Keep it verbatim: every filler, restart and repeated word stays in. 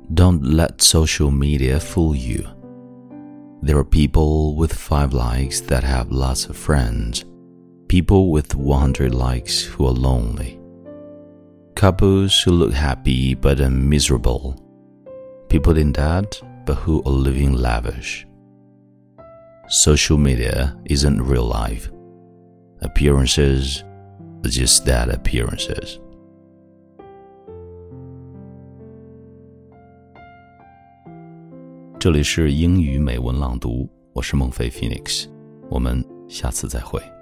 Don't let social media fool you. There are people with five likes that have lots of friends, people with one hundred likes who are lonely, couples who look happy but are miserable, people in debt but who are living lavish. Social media isn't real life. Appearances are just that, appearances. 这里是英语美文朗读，我是孟非 Phoenix， 我们下次再会。